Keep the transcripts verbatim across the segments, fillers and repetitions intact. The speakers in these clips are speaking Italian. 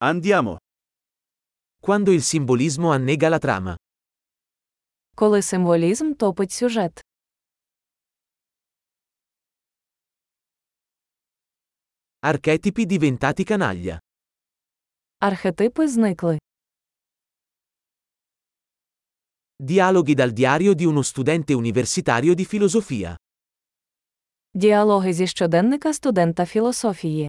Andiamo. Quando il simbolismo annega la trama. Коли символізм топить сюжет. Archetipi diventati canaglia. Архетипи зникли. Dialoghi dal diario di uno studente universitario di filosofia. Діалоги зі щоденника студента філософії.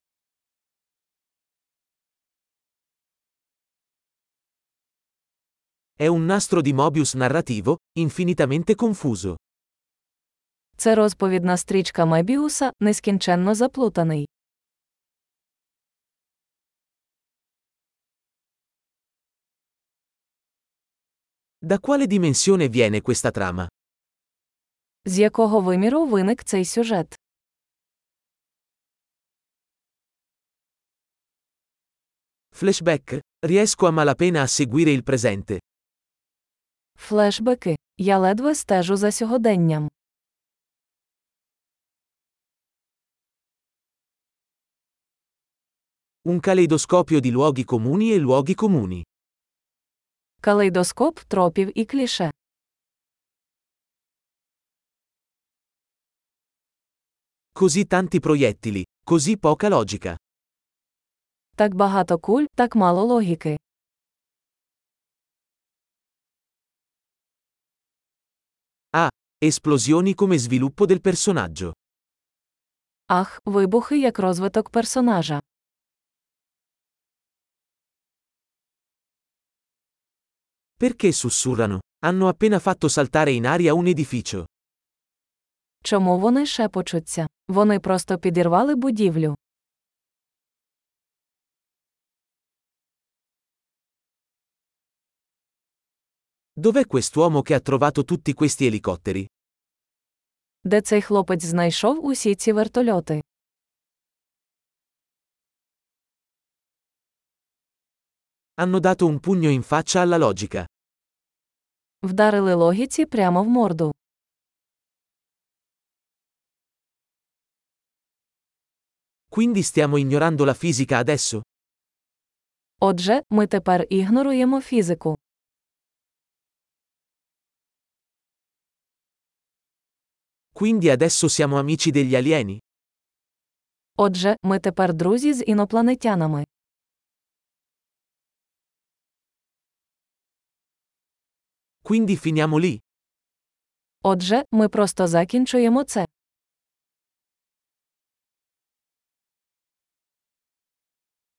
È un nastro di Mobius narrativo, infinitamente confuso. Це розповідна стрічка Мебіуса, нескінченно заплутаний. Da quale dimensione viene questa trama? З якого виміру виник цей сюжет? Flashback? Riesco a malapena a seguire il presente. Флешбеки. Я ледве стежу за сьогоденням. Un caleidoscopio di luoghi comuni e luoghi comuni. Калейдоскоп тропів і кліше. Così tanti proiettili, così poca logica. Так багато куль, так мало логіки. Ah, esplosioni come sviluppo del personaggio. Ах, вибухи як розвиток персонажа. Perché sussurrano? Hanno appena fatto saltare in aria un edificio. Чому вони шепочуться? Вони просто підірвали будівлю. Dov'è quest'uomo che ha trovato tutti questi elicotteri? Де цей хлопець знайшов усі ці вертольоти? Hanno dato un pugno in faccia alla logica. Вдарили логіці прямо в морду. Quindi stiamo ignorando la fisica adesso? Отже, ми тепер ігноруємо фізику. Quindi adesso siamo amici degli alieni? Отже, ми тепер друзі з інопланетянами. Quindi finiamo lì? Отже, ми просто закінчуємо це.